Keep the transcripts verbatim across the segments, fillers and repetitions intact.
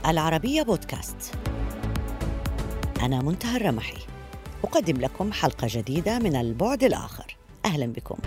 العربية بودكاست. أنا منتهى الرمحي، أقدم لكم حلقة جديدة من البعد الآخر. أهلا بكم.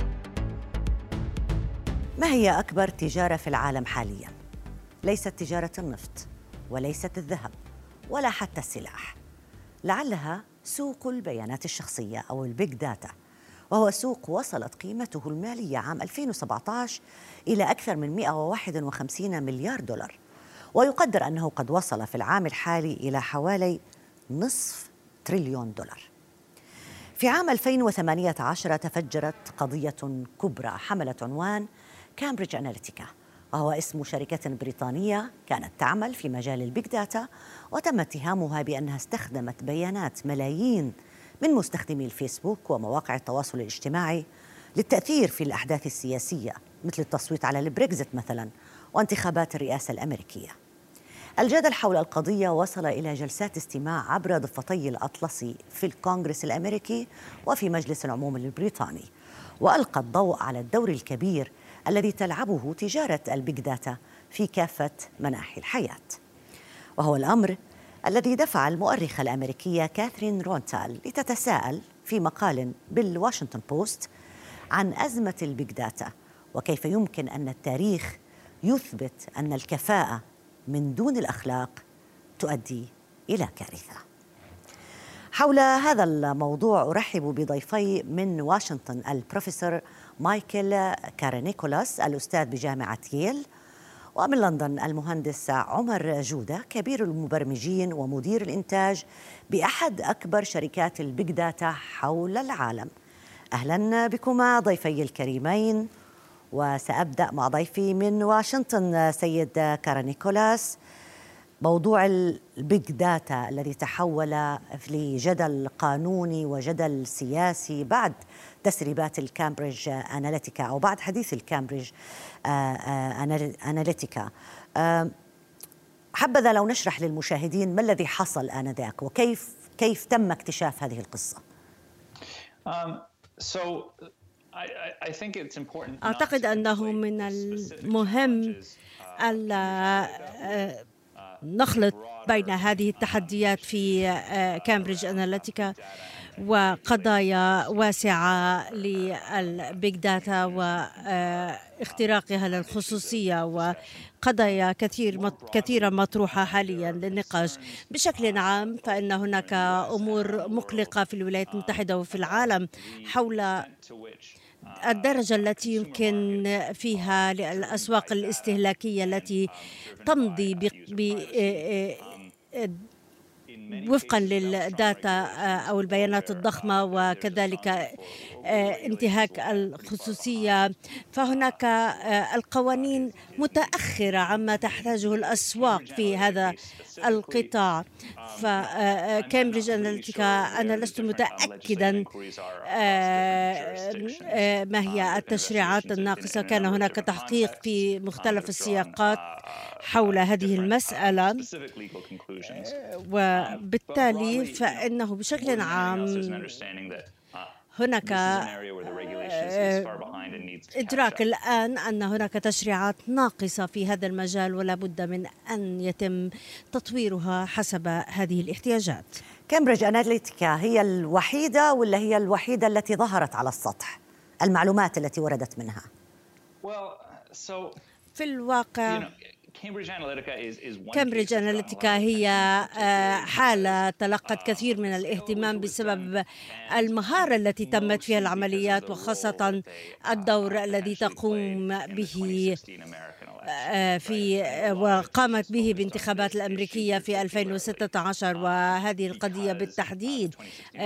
ما هي أكبر تجارة في العالم حالياً؟ ليست تجارة النفط، وليست الذهب، ولا حتى السلاح. لعلها سوق البيانات الشخصية أو البيج داتا، وهو سوق وصلت قيمته المالية عام ألفين وسبعة عشر إلى أكثر من مئة وواحد وخمسين مليار دولار، ويقدر أنه قد وصل في العام الحالي إلى حوالي نصف تريليون دولار. في عام ألفين وثمانية عشر تفجرت قضية كبرى حملت عنوان كامبريدج أناليتيكا، وهو اسم شركة بريطانية كانت تعمل في مجال البيج داتا، وتم اتهامها بأنها استخدمت بيانات ملايين من مستخدمي الفيسبوك ومواقع التواصل الاجتماعي للتأثير في الأحداث السياسية، مثل التصويت على البريكزيت مثلا وانتخابات الرئاسة الأمريكية. الجدل حول القضية وصل إلى جلسات استماع عبر ضفتي الأطلسي في الكونغرس الأمريكي وفي مجلس العموم البريطاني، وألقى الضوء على الدور الكبير الذي تلعبه تجارة البيج داتا في كافة مناحي الحياة، وهو الأمر الذي دفع المؤرخة الأمريكية كاثرين رونتال لتتساءل في مقال بالواشنطن بوست عن أزمة البيج داتا، وكيف يمكن أن التاريخ يثبت أن الكفاءة من دون الأخلاق تؤدي إلى كارثة. حول هذا الموضوع أرحب بضيفي من واشنطن: البروفيسور مايكل كارينيكولاس الأستاذ بجامعة ييل، ومن لندن المهندس عمر جودة كبير المبرمجين ومدير الإنتاج بأحد أكبر شركات البيج داتا حول العالم. أهلا بكما ضيفي الكريمين، وسأبدأ مع ضيفي من واشنطن سيد كارينيكولاس. موضوع البيج داتا الذي تحول لجدل قانوني وجدل سياسي بعد تسريبات الكامبريدج أناليتيكا أو بعد حديث الكامبريدج أناليتيكا. حبذا لو نشرح للمشاهدين ما الذي حصل آنذاك وكيف كيف تم اكتشاف هذه القصة. um, so أعتقد أنه من المهم ألا نخلط بين هذه التحديات في كامبريدج أناليتيكا وقضايا واسعة للبيج داتا واختراقها للخصوصية، وقضايا كثير كثيرة مطروحة حاليا للنقاش. بشكل عام فإن هناك أمور مقلقة في الولايات المتحدة وفي العالم حول الدرجة التي يمكن فيها للأسواق الاستهلاكية التي تمضي ب وفقا للداتا أو البيانات الضخمة وكذلك انتهاك الخصوصية. فهناك القوانين متأخرة عما تحتاجه الأسواق في هذا القطاع. فكامبريدج أناليتيكا أنا لست متأكدا ما هي التشريعات الناقصة. كان هناك تحقيق في مختلف السياقات حول هذه المسألة، وبالتالي فإنه بشكل عام هناك إدراك الآن أن هناك تشريعات ناقصة في هذا المجال ولا بد من أن يتم تطويرها حسب هذه الاحتياجات. كامبريدج أناليتيكا هي الوحيدة ولا هي الوحيدة التي ظهرت على السطح؟ المعلومات التي وردت منها؟ في الواقع كامبريدج أناليتيكا هي حالة تلقت كثير من الاهتمام بسبب المهارة التي تمت فيها العمليات، وخاصة الدور الذي تقوم به في وقامت به بانتخابات الأمريكية في ألفين وستة عشر، وهذه القضية بالتحديد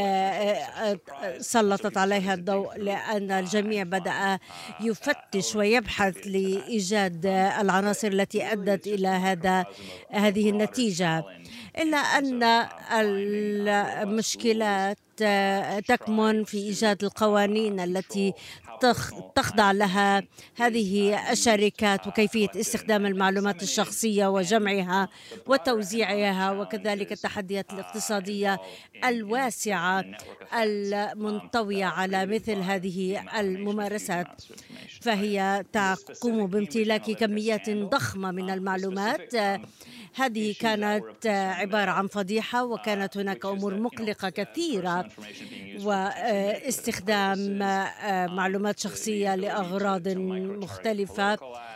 سلطت عليها الضوء لأن الجميع بدأ يفتش ويبحث لإيجاد العناصر التي أدت إلى هذا هذه النتيجة. إلا أن المشكلات تكمن في إيجاد القوانين التي تخضع لها هذه الشركات وكيفية استخدام المعلومات الشخصية وجمعها وتوزيعها، وكذلك التحديات الاقتصادية الواسعة المنطوية على مثل هذه الممارسات. فهي تقوم بامتلاك كميات ضخمة من المعلومات هذه كانت عبارة عن فضيحة، وكانت هناك أمور مقلقة كثيرة، واستخدام معلومات شخصية لأغراض مختلفة،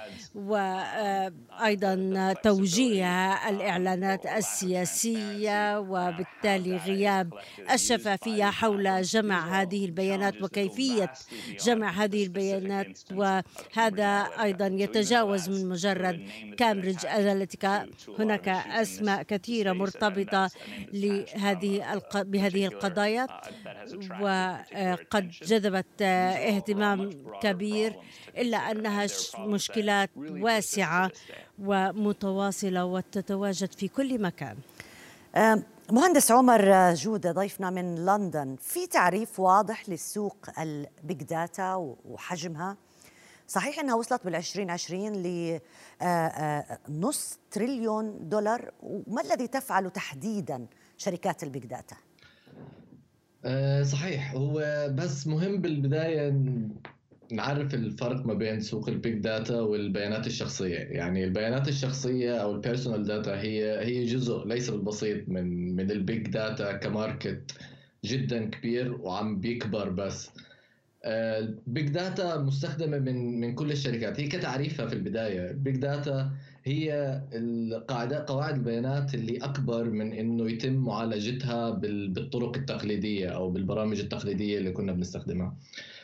وأيضا توجيه الإعلانات السياسية، وبالتالي غياب الشفافية حول جمع هذه البيانات وكيفية جمع هذه البيانات. وهذا أيضا يتجاوز من مجرد كامبريدج أناليتيكا. هناك أسماء كثيرة مرتبطة لهذه بهذه القضايا، وقد جذبت اهتمام كبير، إلا أنها مشكلات واسعة ومتواصلة وتتواجد في كل مكان. مهندس عمر جودة ضيفنا من لندن، في تعريف واضح للسوق البيج داتا وحجمها؟ صحيح أنها وصلت بالعشرين عشرين لنص تريليون دولار، وما الذي تفعل تحديدا شركات البيج داتا؟ صحيح، هو بس مهم بالبداية نعرف الفرق ما بين سوق البيج داتا والبيانات الشخصية. يعني البيانات الشخصية أو البيرسونال داتا هي هي جزء ليس بالبسيط من من البيج داتا كماركت جدا كبير وعم بيكبر. بس البيج داتا مستخدمة من من كل الشركات. هي كتعريفها في البداية، البيج داتا هي القاعدة قواعد البيانات اللي أكبر من إنه يتم معالجتها بالطرق التقليدية أو بالبرامج التقليدية اللي كنا بنستخدمها.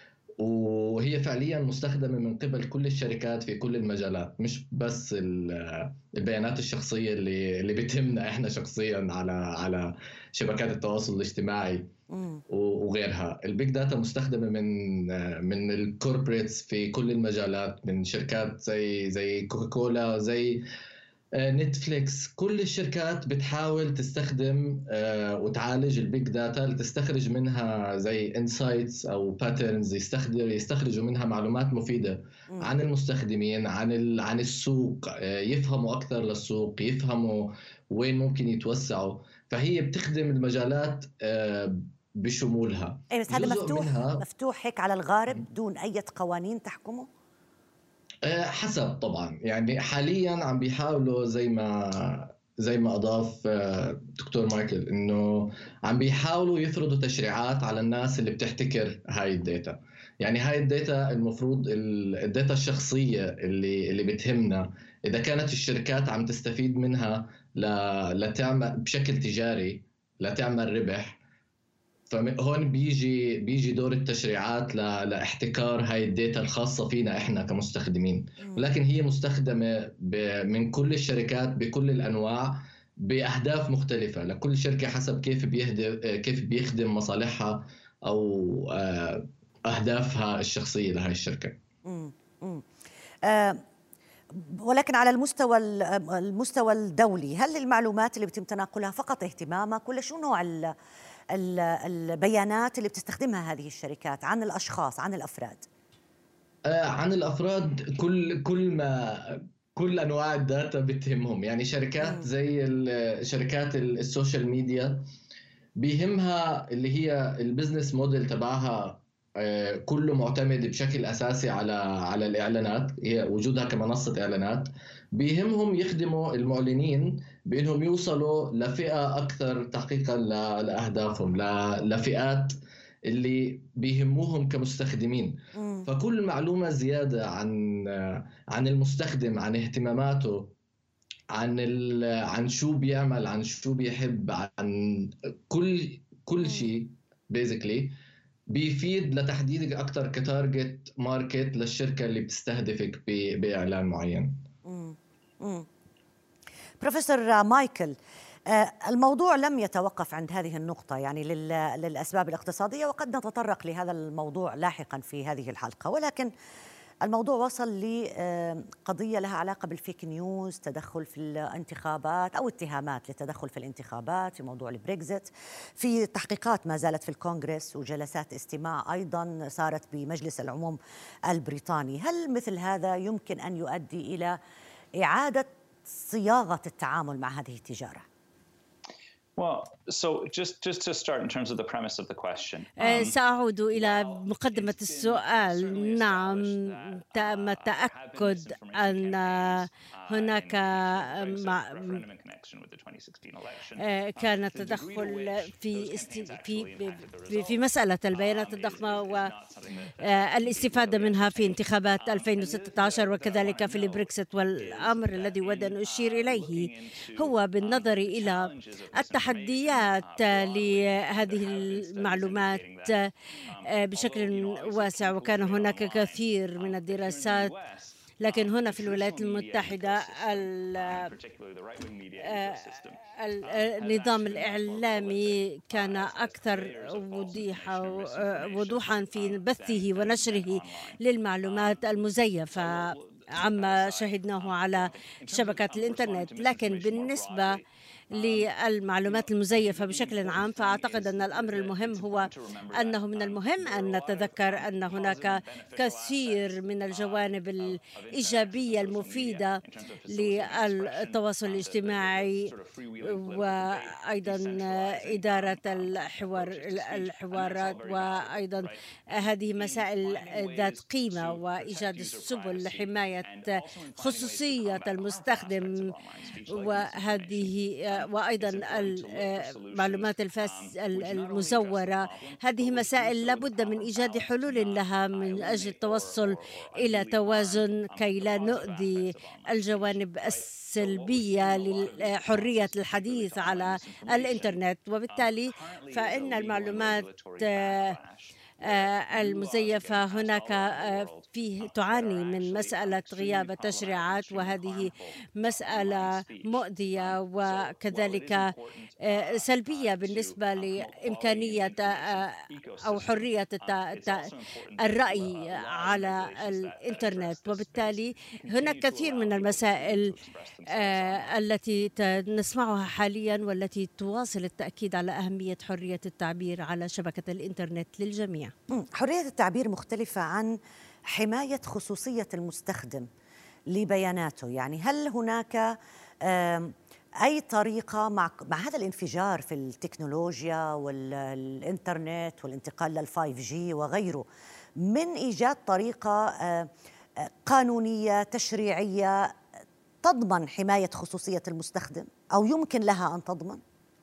وهي فعليا مستخدمة من قبل كل الشركات في كل المجالات، مش بس البيانات الشخصية اللي اللي بتهمنا احنا شخصيا على على شبكات التواصل الاجتماعي وغيرها. البيج داتا مستخدمة من من الكوربريتس في كل المجالات، من شركات زي زي كوكاكولا، زي نتفليكس. كل الشركات بتحاول تستخدم وتعالج البيج داتا لتستخرج منها زي انسايتس او باترنز، يستخدم يستخرجوا منها معلومات مفيدة عن المستخدمين، عن عن السوق، يفهموا اكثر للسوق، يفهموا وين ممكن يتوسعوا. فهي بتخدم المجالات بشمولها. اي بس هذا مفتوح مفتوح هيك على الغارب دون اي قوانين تحكمه؟ حسب طبعا. يعني حاليا عم بيحاولوا زي ما زي ما اضاف دكتور مايكل انه عم بيحاولوا يفرضوا تشريعات على الناس اللي بتحتكر هاي الداتا. يعني هاي الداتا المفروض الداتا الشخصيه اللي اللي بتهمنا، اذا كانت الشركات عم تستفيد منها لتعمل بشكل تجاري لتعمل ربح، فهون بيجي بيجي دور التشريعات لاحتكار هاي الداتا الخاصة فينا إحنا كمستخدمين. ولكن هي مستخدمة من كل الشركات بكل الأنواع بأهداف مختلفة، لكل شركة حسب كيف بيهدف كيف بيخدم مصالحها أو أهدافها الشخصية لهاي الشركة. مم. مم. آه ولكن على المستوى المستوى الدولي، هل المعلومات اللي بيتم تناقلها فقط اهتمامك، ولا شو نوع ال البيانات اللي بتستخدمها هذه الشركات عن الأشخاص، عن الأفراد؟ آه عن الأفراد، كل كل ما كل أنواع الداتا بتهمهم. يعني شركات زي شركات السوشيال ميديا بيهمها اللي هي البزنس موديل تبعها آه كله معتمد بشكل أساسي على على الإعلانات، هي وجودها كمنصة إعلانات. بيهمهم يخدموا المعلنين بأنهم يوصلوا لفئة أكثر تحقيقاً لأهدافهم، لفئات اللي بيهموهم كمستخدمين. م. فكل معلومة زيادة عن عن المستخدم، عن اهتماماته، عن عن شو بيعمل، عن شو بيحب، عن كل كل شيء بيزيكلي بيفيد لتحديدك أكثر كتارجت ماركت للشركة اللي بتستهدفك بإعلان معين. م. م. بروفيسور مايكل، الموضوع لم يتوقف عند هذه النقطة، يعني للأسباب الاقتصادية، وقد نتطرق لهذا الموضوع لاحقا في هذه الحلقة، ولكن الموضوع وصل لقضية لها علاقة بالفيك نيوز، تدخل في الانتخابات أو اتهامات للتدخل في الانتخابات، في موضوع البريكزيت، في تحقيقات ما زالت في الكونغرس، وجلسات استماع أيضا صارت بمجلس العموم البريطاني. هل مثل هذا يمكن أن يؤدي إلى إعادة صياغة التعامل مع هذه التجارة؟ سأعود إلى مقدمة السؤال. نعم، تم التأكد أن هناك كان تدخل في في في مسألة البيانات الضخمة والاستفادة منها في انتخابات ألفين وستة عشر وكذلك في البريكسيت. والأمر الذي أود أن أشير إليه هو بالنظر إلى التحديات لهذه المعلومات بشكل واسع، وكان هناك كثير من الدراسات، لكن هنا في الولايات المتحدة النظام الإعلامي كان أكثر وضوحا في بثه ونشره للمعلومات المزيفة عما شهدناه على شبكات الإنترنت. لكن بالنسبة للمعلومات المزيفة بشكل عام، فأعتقد أن الأمر المهم هو أنه من المهم أن نتذكر أن هناك كثير من الجوانب الإيجابية المفيدة للتواصل الاجتماعي وأيضا إدارة الحوار الحوارات وأيضا هذه مسائل ذات قيمة وإيجاد السبل لحماية خصوصية المستخدم، وهذه وأيضا المعلومات المزورة. هذه مسائل لابد من إيجاد حلول لها من أجل التوصل إلى توازن كي لا نؤذي الجوانب السلبية لحرية الحديث على الإنترنت. وبالتالي فإن المعلومات المزيفة هناك فيه تعاني من مسألة غياب التشريعات، وهذه مسألة مؤذية وكذلك سلبية بالنسبة لإمكانية أو حرية الرأي على الإنترنت. وبالتالي هناك كثير من المسائل التي نسمعها حاليا والتي تواصل التأكيد على أهمية حرية التعبير على شبكة الإنترنت للجميع. حرية التعبير مختلفة عن حماية خصوصية المستخدم لبياناته. يعني هل هناك أي طريقة مع مع هذا الانفجار في التكنولوجيا والإنترنت والانتقال للفايف جي وغيره من إيجاد طريقة قانونية تشريعية تضمن حماية خصوصية المستخدم أو يمكن لها أن تضمن؟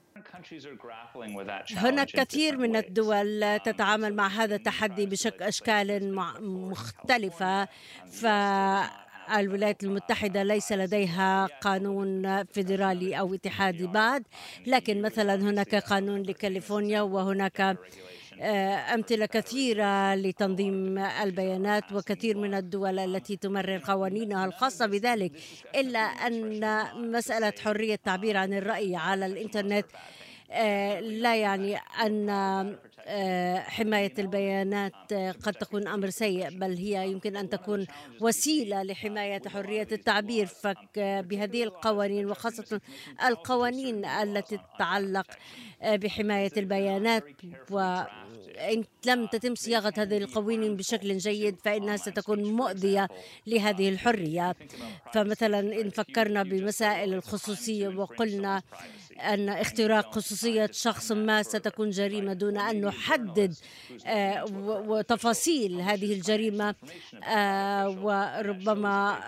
هناك كثير من الدول تتعامل مع هذا التحدي بشكل أشكال مختلفة. فالولايات المتحدة ليس لديها قانون فيدرالي أو اتحادي بعد، لكن مثلا هناك قانون لكاليفورنيا، وهناك أمثلة كثيرة لتنظيم البيانات وكثير من الدول التي تمرر قوانينها الخاصة بذلك. إلا أن مسألة حرية التعبير عن الرأي على الإنترنت لا يعني أن حماية البيانات قد تكون أمر سيء، بل هي يمكن أن تكون وسيلة لحماية حرية التعبير. فبهذه القوانين وخاصة القوانين التي تتعلق بحماية البيانات، وإن لم تتم صياغة هذه القوانين بشكل جيد فإنها ستكون مؤذية لهذه الحرية. فمثلا إن فكرنا بمسائل الخصوصية وقلنا أن اختراق خصوصية شخص ما ستكون جريمة دون أن نحدد وتفاصيل هذه الجريمة، وربما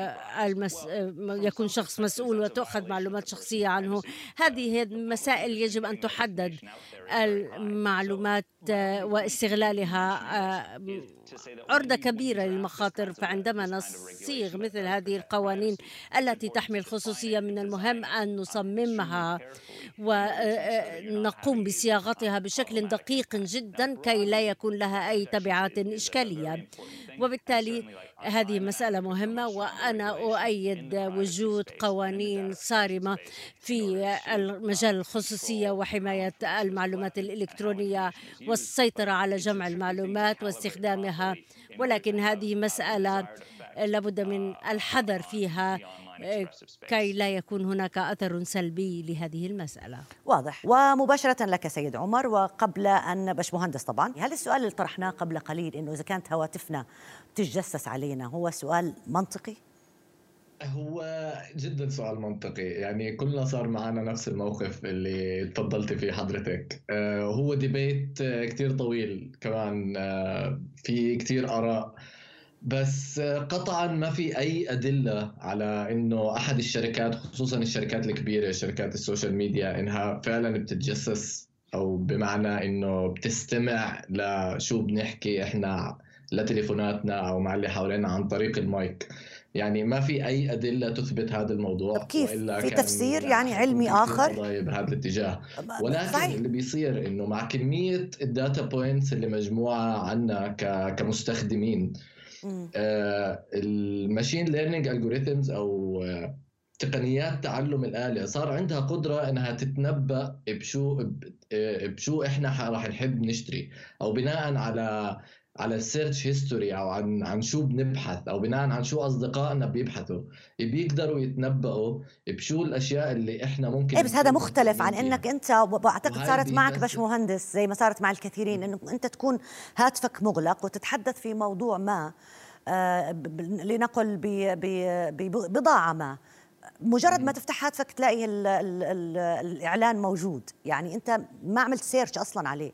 يكون شخص مسؤول وتأخذ معلومات شخصية عنه. هذه مسائل يجب أن تحدد المعلومات واستغلالها عرضة كبيرة للمخاطر. فعندما نصيغ مثل هذه القوانين التي تحمي الخصوصية من المهم أن نصممها ونقوم بصياغتها بشكل دقيق جدا كي لا يكون لها أي تبعات إشكالية. وبالتالي هذه مسألة مهمة، وأنا أؤيد وجود قوانين صارمة في مجال الخصوصية وحماية المعلومات الإلكترونية والسيطرة على جمع المعلومات واستخدامها. ولكن هذه مسألة لابد من الحذر فيها كي لا يكون هناك أثر سلبي لهذه المسألة. واضح. ومباشرة لك سيد عمر، وقبل أن باش مهندس طبعا، هل السؤال اللي طرحناه قبل قليل إنه إذا كانت هواتفنا تتجسس علينا هو سؤال منطقي؟ هو جدا سؤال منطقي، يعني كلنا صار معنا نفس الموقف اللي تفضلت فيه حضرتك. آه، هو ديبيت آه، كتير طويل كمان، آه، في كتير آراء، بس آه، قطعا ما في أي أدلة على إنه أحد الشركات، خصوصا الشركات الكبيرة، شركات السوشيال ميديا، إنها فعلا بتتجسس، أو بمعنى إنه بتستمع لشو بنحكي إحنا لتليفوناتنا أو مع اللي حوالينا عن طريق المايك. يعني ما في أي أدلة تثبت هذا طب الموضوع، كيف وإلا في كان تفسير يعني حيكون علمي في كتير آخر؟ قضايا بهذا الاتجاه. ولكن صحيح. اللي بيصير إنه مع كمية الداتا بوينتس اللي مجموعة عنا ك- كمستخدمين، مم. آه، الماشين ليرنينج الجوريثمز او آه، تقنيات تعلم الآلة صار عندها قدرة انها تتنبأ بشو ب- آه، بشو احنا ح- راح نحب نشتري، او بناء على على السيرش هيستوري، او عن عن شو بنبحث، او بناء عن شو اصدقائنا بيبحثوا، بيقدروا يتنبأوا بشو الاشياء اللي احنا ممكن ايه بس هذا نكون مختلف عن مهتمين انك فيها. انت، واعتقد وهاي صارت معك بيجسد. باشمهندس زي ما صارت مع الكثيرين، انه انت تكون هاتفك مغلق وتتحدث في موضوع ما، آه، ب- ب- لنقل ب- ب- ببضاعة ما، مجرد ما تفتح هاتفك تلاقي ال ال ال الإعلان موجود، يعني أنت ما عملت سيرش أصلا عليه.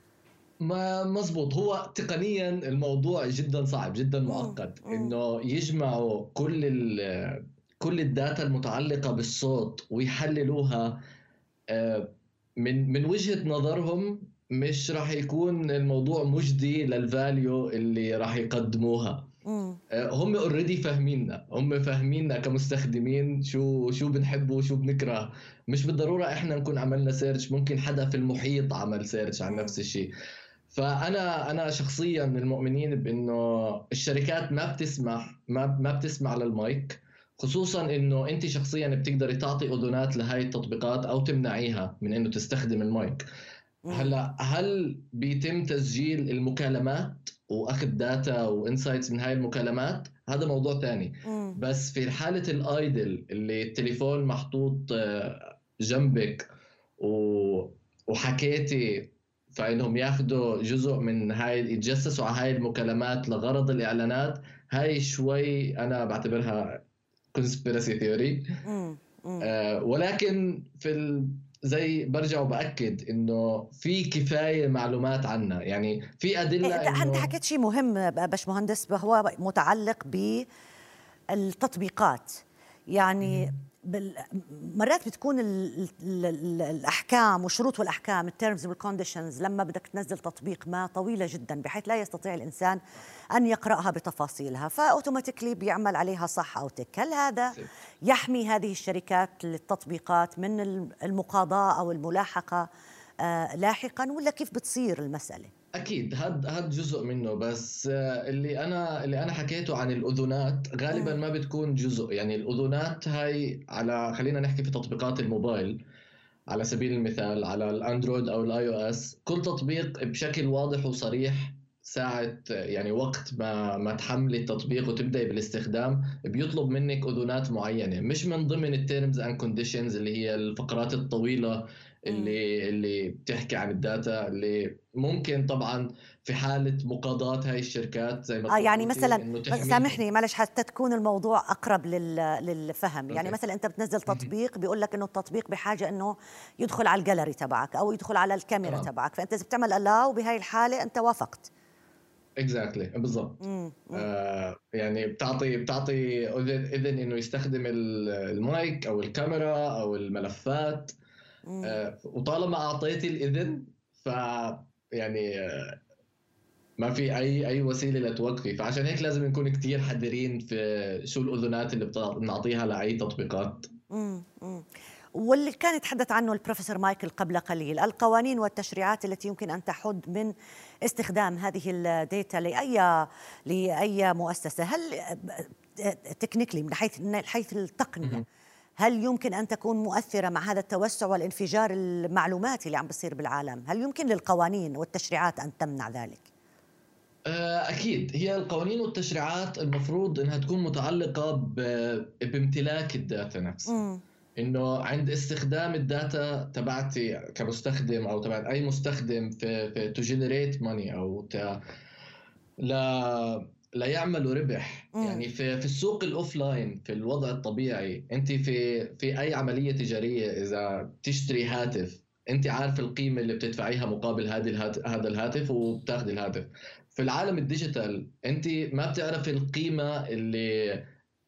ما مزبوط، هو تقنيا الموضوع جدا صعب، جدا مم. معقد، مم. انه يجمعوا كل ال كل الداتا المتعلقة بالصوت ويحللوها. آه، من من وجهة نظرهم مش راح يكون الموضوع مجدي للفاليو اللي راح يقدموها. مم. آه، هم اوريدي فاهميننا، هم فاهميننا كمستخدمين، شو شو بنحب وشو بنكره. مش بالضرورة احنا نكون عملنا سيرش، ممكن حدا في المحيط عمل سيرش عن مم. نفس الشيء. فانا انا شخصيا من المؤمنين بانه الشركات ما بتسمح ما ما بتسمع للمايك، خصوصا انه انت شخصيا بتقدري تعطي اذونات لهي التطبيقات او تمنعيها من انه تستخدم المايك. مم. هلا هل بيتم تسجيل المكالمات واخذ داتا وانسايتس من هاي المكالمات؟ هذا موضوع ثاني. مم. بس في حالة الايدل اللي التليفون محطوط آه، جنبك و... وحكيتي، فإنهم ياخذوا جزء من هاي، يتجسسوا على هاي المكالمات لغرض الإعلانات، هاي شوي أنا بعتبرها conspiracy theory. مم. مم. آه، ولكن في ال... زي برجع وبأكد إنه في كفاية معلومات عنا، يعني في إيه، أدلة انت انت إنه حكيت شيء مهم باشمهندس، هو متعلق بالتطبيقات. يعني بال... مرات بتكون ال... ال... ال... الأحكام والشروط والأحكام، التيرمز والكونديشنز، لما بدك تنزل تطبيق ما طويلة جدا بحيث لا يستطيع الإنسان أن يقرأها بتفاصيلها، فأوتوماتيكلي بيعمل عليها صح أو تك. هل هذا يحمي هذه الشركات للتطبيقات من المقاضاة أو الملاحقة آه لاحقا، ولا كيف بتصير المسألة؟ اكيد هاد هاد جزء منه، بس آه، اللي انا اللي انا حكيته عن الاذونات غالبا مم. ما بتكون جزء. يعني الاذونات هاي على، خلينا نحكي في تطبيقات الموبايل على سبيل المثال، على الاندرويد او الاي او اس، كل تطبيق بشكل واضح وصريح ساعة، يعني وقت ما ما تحملي التطبيق وتبدأي بالاستخدام، بيطلب منك أذونات معينة، مش من ضمن التيرمز اند كونديشنز اللي هي الفقرات الطويلة مم. اللي اللي بتحكي عن الداتا، اللي ممكن طبعا في حالة مقاضاة هاي الشركات زي ما آه يعني تفضلتي مثلا انه تحميهم. سامحني معلش حتى تكون الموضوع أقرب لل... للفهم. يعني اوكي. مثلا أنت بتنزل تطبيق بيقول لك إنه التطبيق بحاجة إنه يدخل على الجاليري تبعك أو يدخل على الكاميرا تمام. تبعك، فأنت إذا بتعمل ألاو بهاي الحالة أنت وافقت. اكزاكتلي exactly. بالضبط. مم. مم. آه يعني بتعطي بتعطي اذن اذن انه يستخدم ال- المايك او الكاميرا او الملفات. مم. آه وطالما اعطيتي الاذن، ف يعني آه ما في اي اي وسيله لتوقفي. فعشان هيك لازم نكون كتير حذرين في شو الاذونات اللي بتع- بنعطيها لاي تطبيقات. مم. مم. واللي كان يتحدث عنه البروفيسور مايكل قبل قليل، القوانين والتشريعات التي يمكن أن تحد من استخدام هذه الداتا لأي لأي مؤسسة. هل تكنيكلي من حيث من حيث التقنية هل يمكن أن تكون مؤثرة مع هذا التوسع والانفجار المعلوماتي اللي عم بيصير بالعالم؟ هل يمكن للقوانين والتشريعات أن تمنع ذلك؟ أكيد هي القوانين والتشريعات المفروض إنها تكون متعلقة ب- بامتلاك الداتا نفسها. مم. إنه عند استخدام الداتا تبعتي كمستخدم أو تبع أي مستخدم في في to generate money أو ت ل ليعملوا ربح. مم. يعني في في السوق الاوفلاين في الوضع الطبيعي، انت في في اي عمليه تجاريه اذا بتشتري هاتف، انت عارف القيمه اللي بتدفعيها مقابل هذه الهاتف هذا الهاتف وبتاخذي الهاتف. في العالم الديجيتال انت ما بتعرفي القيمه اللي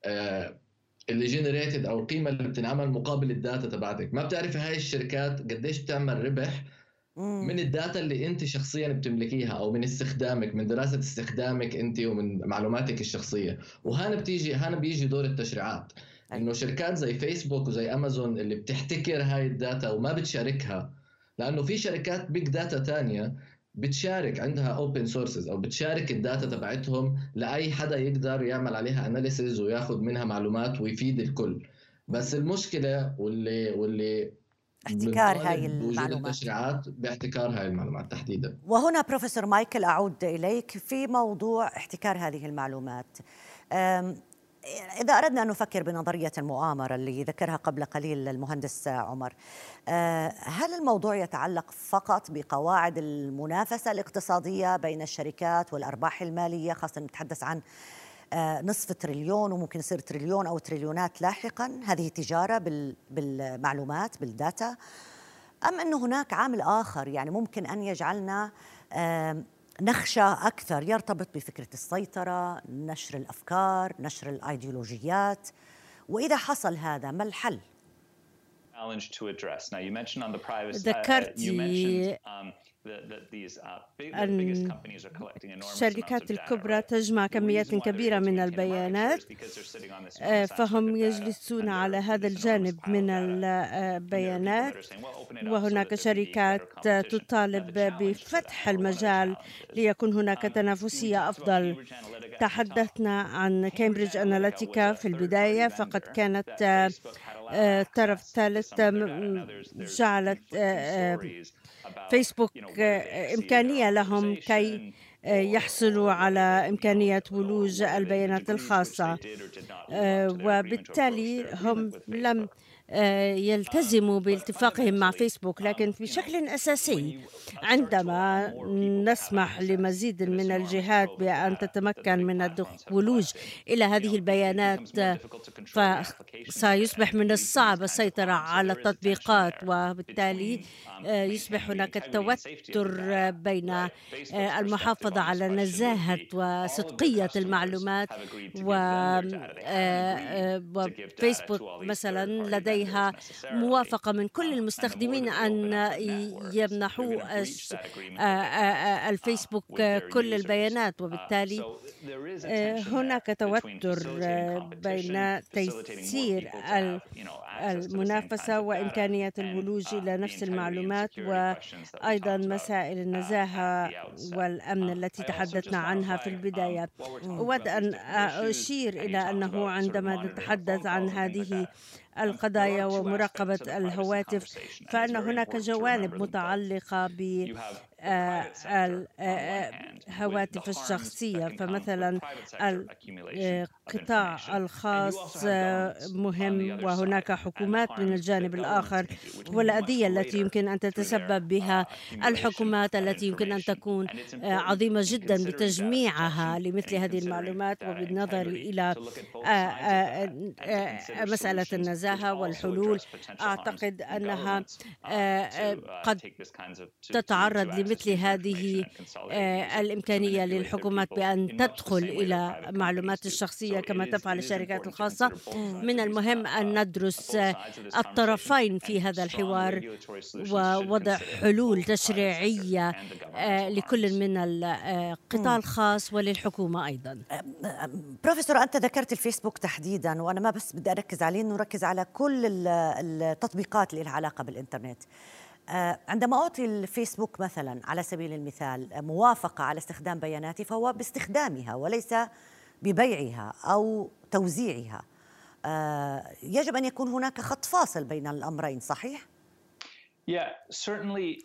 آه اللي جنريتد او القيمه اللي بتنعمل مقابل الداتا تبعتك. ما بتعرفي هاي الشركات قديش بتعمل ربح مم. من الداتا اللي انت شخصيا بتملكيها، او من استخدامك، من دراسه استخدامك انت ومن معلوماتك الشخصيه. وهنا بتيجي هنا بيجي دور التشريعات، أي. انه شركات زي فيسبوك وزي امازون اللي بتحتكر هاي الداتا وما بتشاركها، لانه في شركات بيج داتا تانية بتشارك، عندها اوبن سورسز او بتشارك الداتا تبعتهم لاي حدا يقدر يعمل عليها اناليسز وياخذ منها معلومات ويفيد الكل. بس المشكله واللي واللي احتكار هاي بنطالب بوجود المعلومات. التشريعات باحتكار هاي المعلومات تحديدا. وهنا بروفيسور مايكل أعود إليك في موضوع احتكار هذه المعلومات. أم، إذا أردنا أن نفكر بنظرية المؤامرة اللي ذكرها قبل قليل المهندس عمر، أه، هل الموضوع يتعلق فقط بقواعد المنافسة الاقتصادية بين الشركات والأرباح المالية، خاصة نتحدث عن أه، نصف تريليون وممكن يصير تريليون أو تريليونات لاحقا، هذه تجارة بال- بالمعلومات بالداتا، أم أن هناك عامل آخر يعني ممكن أن يجعلنا آم، نخشى أكثر يرتبط بفكرة السيطرة، نشر الأفكار، نشر الأيديولوجيات؟ وإذا حصل هذا ما الحل؟ challenge to address. Now you mentioned on the privacy. Uh, uh, you ذكرتي mentioned um, that, that these uh, big, the biggest أن companies are collecting enormous amounts of الشركات data. الكبرى Right? تجمع The كميات reason why they're able كبيرة to من maintain market share البيانات، is because they're sitting on this آه، enormous aspect فهم of data, يجلسون and على there- هذا there's enormous الجانب pile of من data. And there are people البيانات. that are saying, well, open it up so وهناك that there can be better شركات competition. Now, تطالب the challenge to بفتح that, or one of the المجال challenges, ليكون هناك um, we تنافسية talked about أفضل. Cambridge Analytica at the top. تحدثنا عن Cambridge كامبريدج Analytica أناليتيكا was a في third-party البداية، vendor فقد that كانت آه، Facebook had allowed آه، طرف access to ثالث some of their م- data. Now, there's there's جعلت conflicting آه، آه، stories about, فيسبوك you know, whether they آه، exceeded their إمكانية لهم كي authorization آه، or يحصلوا or whether على they, you know, إمكانية or ولوج whether they, the البيانات degree to which they الخاصة، did or did not live آه، up to their agreement or approach وبالتالي their agreement هم with لم Facebook. آه، Um, يلتزموا but باتفاقهم مع fundamentally, فيسبوك، um, لكن you know, بشكل when أساسي you start to allow عندما more people to have نسمح access لمزيد to this من enormous الجهات trove of بأن data that the تتمكن big من platforms have الولوج collected, إلى you know, هذه it, it البيانات، becomes more difficult to control the applications that are فسيصبح من executing these الصعب kinds of السيطرة harms. So على there is a tension التطبيقات، there وبالتالي between um, آه، يصبح maintaining the هناك integrity and safety of the التوتر data. بين Right. Facebook's آه، perspective المحافظة on this على question would نزاهة be all of their وصدقية customers المعلومات. have agreed to و give them their data. They haven't agreed to give data وفيسبوك to all these مثلا third-party vendors لديها necessarily. موافقة من كل Um, and the more المستخدمين that we أن open up their networks, they're يمنحوا going to breach الش- that agreement آه، that they آه، آه، have uh, الفيسبوك with their كل users. البيانات، Uh, وبالتالي so there is a آه، tension هناك there between توتر facilitating آه، competition, بين facilitating more تيسير people to ال- have, you know, access to the same kinds المنافسة of data, وإمكانية and الولوج uh, إلى the نفس integrity and المعلومات، security questions that we وأيضا talked about مسائل uh, at النزاهة the outset. والأمن Um, التي I also just تحدثنا want to عنها في flag, um, البداية. while we're talking أود about these أن different issues, أشير and you إلى talked أنه about sort of عندما monitoring our phone نتحدث عن calls and things like هذه that. Um, there القضايا are two ومراقبة aspects of the privacy الهواتف، conversation, and it's فإن very هناك important to جوانب remember them both. متعلقة ب You have the آه، private sector ال- on one آه، hand with the هواتف harms that الشخصية، can come with فمثلا private sector accumulation of القطاع information, and you also الخاص have آه، governments on the مهم، other side وهناك and the حكومات من harms that الجانب governments الآخر، can do, which can be much والأذية التي greater يمكن أن through their تتسبب uh, بها accumulation الحكومات، of التي يمكن أن information. تكون And it's آه، important عظيمة in جدا considering data بتجميعها protection and لمثل in هذه considering المعلومات، data وبالنظر integrity إلى to look at both آه، sides of آه، that and to آه، consider مسألة solutions which النزاهة also والحلول. address potential harms. أعتقد And أنها governments uh, آه، to آه، uh, قد take this kinds of to, to, to تتعرض access لمثل user information هذه and consolidate and آه، use it to الإمكانية manipulate their للحكومات people بأن in much the تدخل same way that إلى private companies معلومات do. الشخصية So it كما is تفعل it is الشركات important to الخاصة. consider both sides من of these المهم uh, أن uh, ندرس both sides of this conversation الطرفين and في هذا strong الحوار، regulatory solutions should ووضع consider حلول both the private sector تشريعية and the آه، governmental لكل harms. من القطاع الخاص وللحكومة أيضا. بروفيسور، أنت ذكرت الفيسبوك تحديداً، وأنا ما بس بدي أركز عليه، إنه نركز على كل ال- التطبيقات اللي لها علاقة بالإنترنت. آه، عندما أعطي الفيسبوك مثلاً على سبيل المثال موافقة على استخدام بياناتي، فهو باستخدامها وليس ببيعها أو توزيعها. آه، يجب أن يكون هناك خط فاصل بين الأمرين، صحيح؟ Yeah, certainly.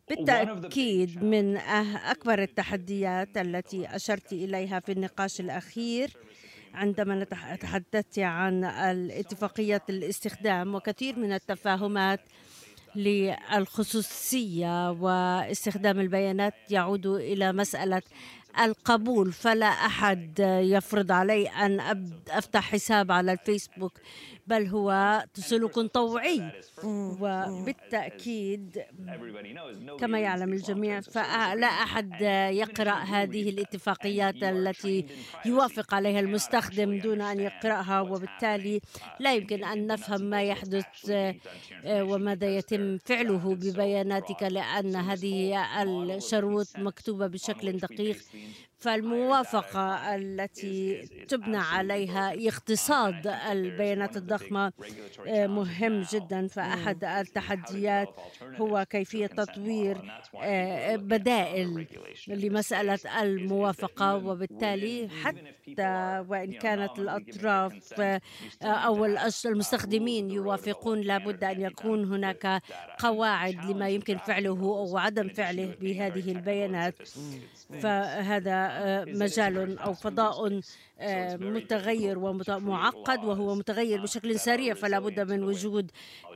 بالتأكيد من أكبر التحديات التي أشرت إليها في النقاش الأخير عندما تحدثت عن الاتفاقية الاستخدام، وكثير من التفاهمات للخصوصية واستخدام البيانات يعود إلى مسألة القبول، فلا أحد يفرض علي أن أفتح حساب على الفيسبوك، بل هو سلوك طوعي. وبالتأكيد كما يعلم الجميع فلا أحد يقرأ هذه الاتفاقيات التي يوافق عليها المستخدم دون أن يقرأها، وبالتالي لا يمكن أن نفهم ما يحدث وماذا يتم فعله ببياناتك، لأن هذه الشروط مكتوبة بشكل دقيق. فالموافقة التي تبنى عليها اقتصاد البيانات الضخمة مهم جدا. فأحد التحديات هو كيفية تطوير بدائل لمسألة الموافقة، وبالتالي حتى وإن كانت الأطراف أو المستخدمين يوافقون لابد أن يكون هناك قواعد لما يمكن فعله أو عدم فعله بهذه البيانات. فهذا مجال أو فضاء متغير ومعقد، وهو متغير بشكل سريع، فلا بد من وجود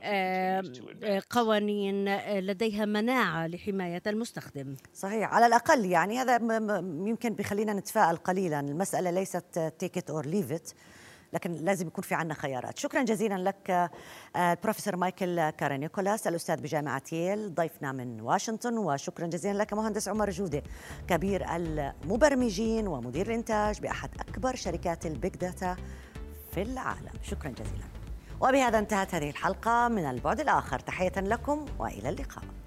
قوانين لديها مناعة لحماية المستخدم. صحيح، على الأقل يعني هذا يمكن بخلينا نتفائل قليلا. المسألة ليست take it or leave it، لكن لازم يكون في عنا خيارات. شكرا جزيلا لك البروفيسور مايكل كارانيكولاس، الأستاذ بجامعة ييل، ضيفنا من واشنطن. وشكرا جزيلا لك مهندس عمر جودة، كبير المبرمجين ومدير الإنتاج بأحد أكبر شركات البيج داتا في العالم. شكرا جزيلا. وبهذا انتهت هذه الحلقة من البعد الآخر. تحية لكم وإلى اللقاء.